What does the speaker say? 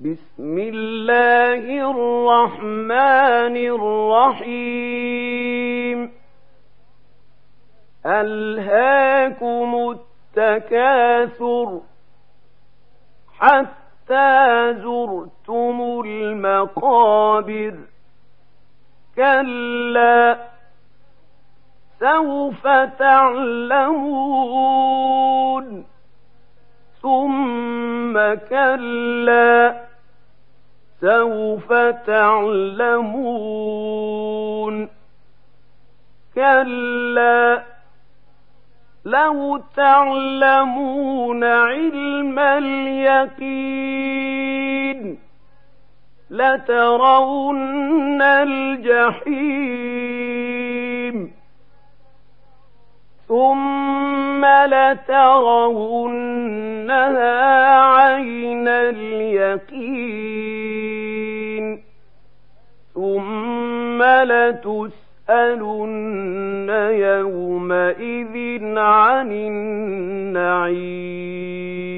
بسم الله الرحمن الرحيم ألهاكم التكاثر حتى زرتم المقابر كلا سوف تعلمون ثم كلا سوف تعلمون كلا لو تعلمون علم اليقين لترون الجحيم ثم لترونها عين اليقين ثم لتسألن يومئذ عن النعيم.